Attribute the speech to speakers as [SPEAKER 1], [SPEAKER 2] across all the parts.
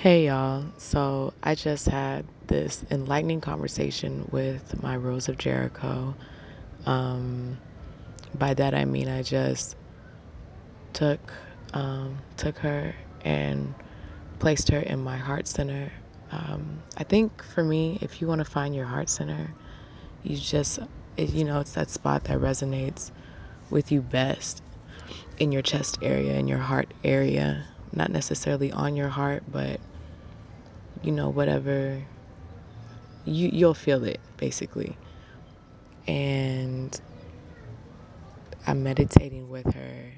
[SPEAKER 1] Hey y'all, so I just had this enlightening conversation with my Rose of Jericho. Um, by that I mean I just took took her and placed her in my heart center. I think for me, if you want to find your heart center, you just it's that spot that resonates with you best in your chest area, in your heart area, not necessarily on your heart, but whatever you'll feel it basically. And I'm meditating with her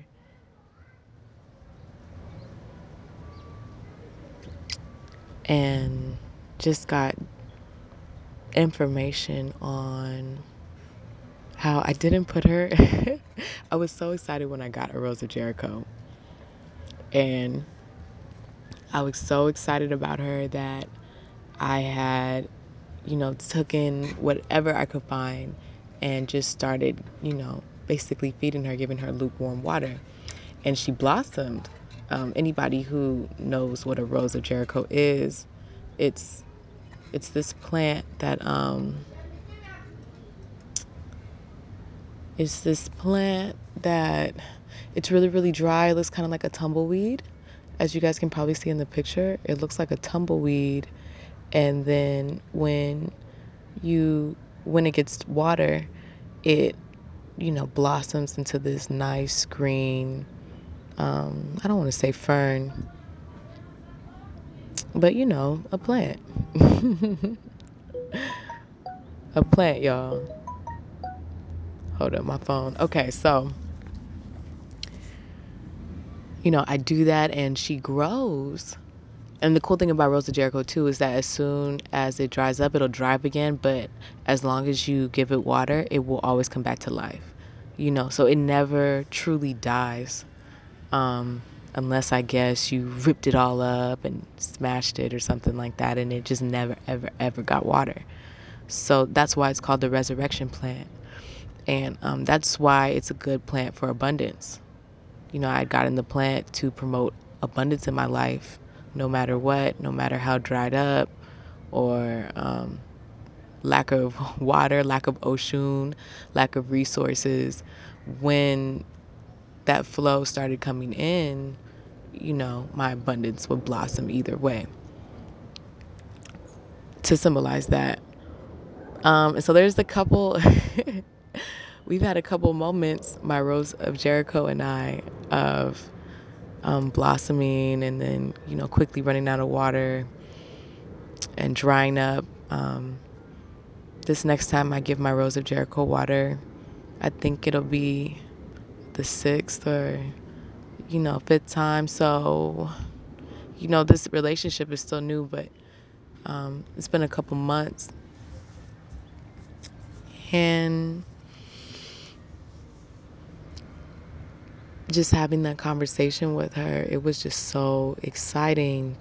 [SPEAKER 1] and just got information on how I didn't put her. I was so excited when I got a Rose of Jericho, and I was so excited about her that I had took in whatever I could find and just started basically feeding her, giving her lukewarm water, and she blossomed. Anybody who knows what a Rose of Jericho is, it's it's this plant that it's this plant that it's really really dry. It looks kind of like a tumbleweed, as you guys can probably see in the picture. It looks like a tumbleweed, and then you when it gets water, it blossoms into this nice green. I don't want to say fern, but a plant. A plant, y'all. Hold up, my phone. Okay, so I do that and she grows. And the cool thing about Rose of Jericho too is that as soon as it dries up, it'll dry up again. But as long as you give it water, it will always come back to life. So it never truly dies, unless I guess you ripped it all up and smashed it or something like that, and it just never, ever, ever got water. So that's why it's called the resurrection plant. And that's why it's a good plant for abundance. I got in the plant to promote abundance in my life, no matter what, no matter how dried up or lack of water, lack of ocean, lack of resources. When that flow started coming in, my abundance would blossom either way to symbolize that. And so there's a couple, we've had a couple moments, my Rose of Jericho and I, of blossoming and then, quickly running out of water and drying up. This next time I give my Rose of Jericho water, I think it'll be the sixth or, fifth time. So, this relationship is still new, but it's been a couple months. And just having that conversation with her, it was just so exciting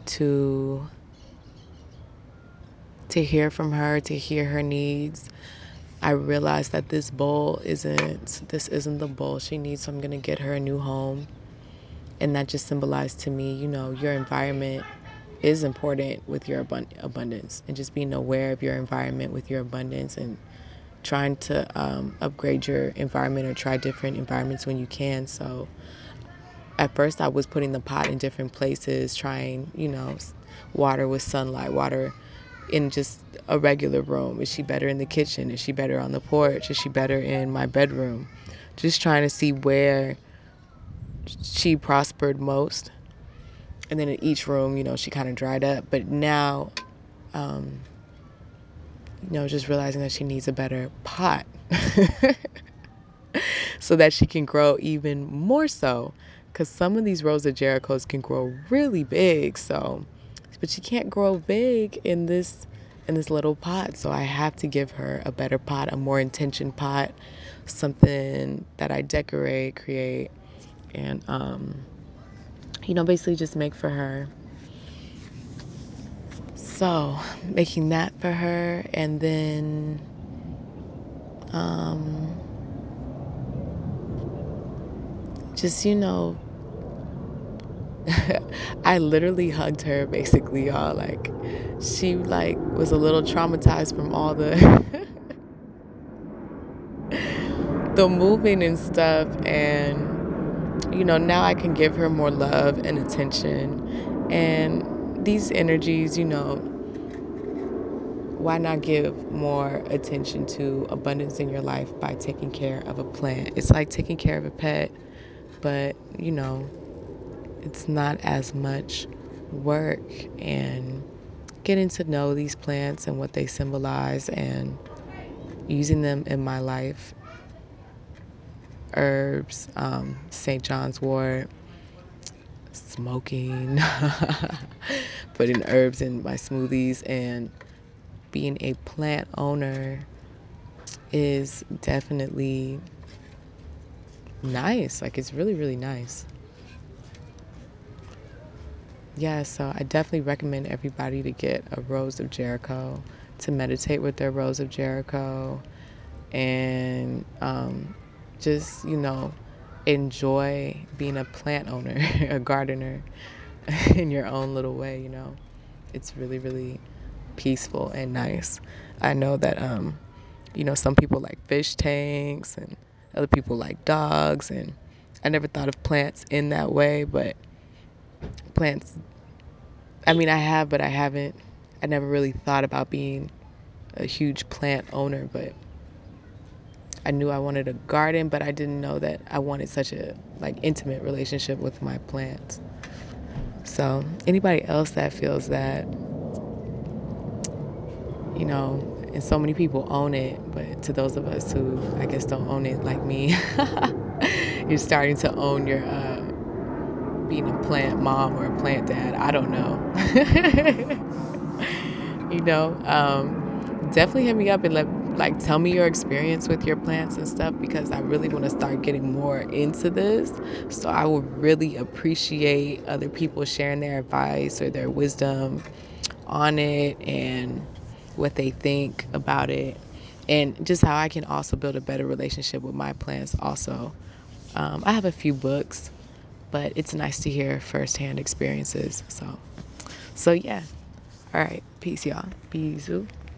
[SPEAKER 1] to hear from her, to hear her needs. I realized that this isn't the bowl she needs, so I'm gonna get her a new home. And that just symbolized to me, your environment is important with your abundance, and just being aware of your environment with your abundance and trying to upgrade your environment or try different environments when you can. So at first I was putting the pot in different places, trying, water with sunlight, water in just a regular room. Is she better in the kitchen? Is she better on the porch? Is she better in my bedroom? Just trying to see where she prospered most. And then in each room, she kind of dried up. But now, just realizing that she needs a better pot so that she can grow even more so. Because some of these Rose of Jerichos can grow really big. So, but she can't grow big in this little pot. So I have to give her a better pot, a more intentioned pot, something that I decorate, create, and basically just make for her. So making that for her, and then just I literally hugged her basically, y'all. Like, she like was a little traumatized from all the the moving and stuff, and now I can give her more love and attention. And these energies, why not give more attention to abundance in your life by taking care of a plant? It's like taking care of a pet, but it's not as much work, and getting to know these plants and what they symbolize and using them in my life. Herbs, St. John's wort, smoking, putting herbs in my smoothies, and being a plant owner is definitely nice. Like, it's really, really nice. Yeah, so I definitely recommend everybody to get a Rose of Jericho, to meditate with their Rose of Jericho, and just, enjoy being a plant owner, a gardener in your own little way. It's really, really peaceful and nice. I know that, some people like fish tanks and other people like dogs, and I never thought of plants in that way, but plants, I mean, I have, but I haven't. I never really thought about being a huge plant owner, but I knew I wanted a garden, but I didn't know that I wanted such a intimate relationship with my plants. So anybody else that feels that, and so many people own it, but to those of us who I guess don't own it like me, you're starting to own your being a plant mom or a plant dad. I don't know. you know Definitely hit me up and tell me your experience with your plants and stuff, because I really want to start getting more into this. So I would really appreciate other people sharing their advice or their wisdom on it, and what they think about it, and just how I can also build a better relationship with my plants also. I have a few books, but it's nice to hear firsthand experiences. So yeah. All right. Peace, y'all. Bisous.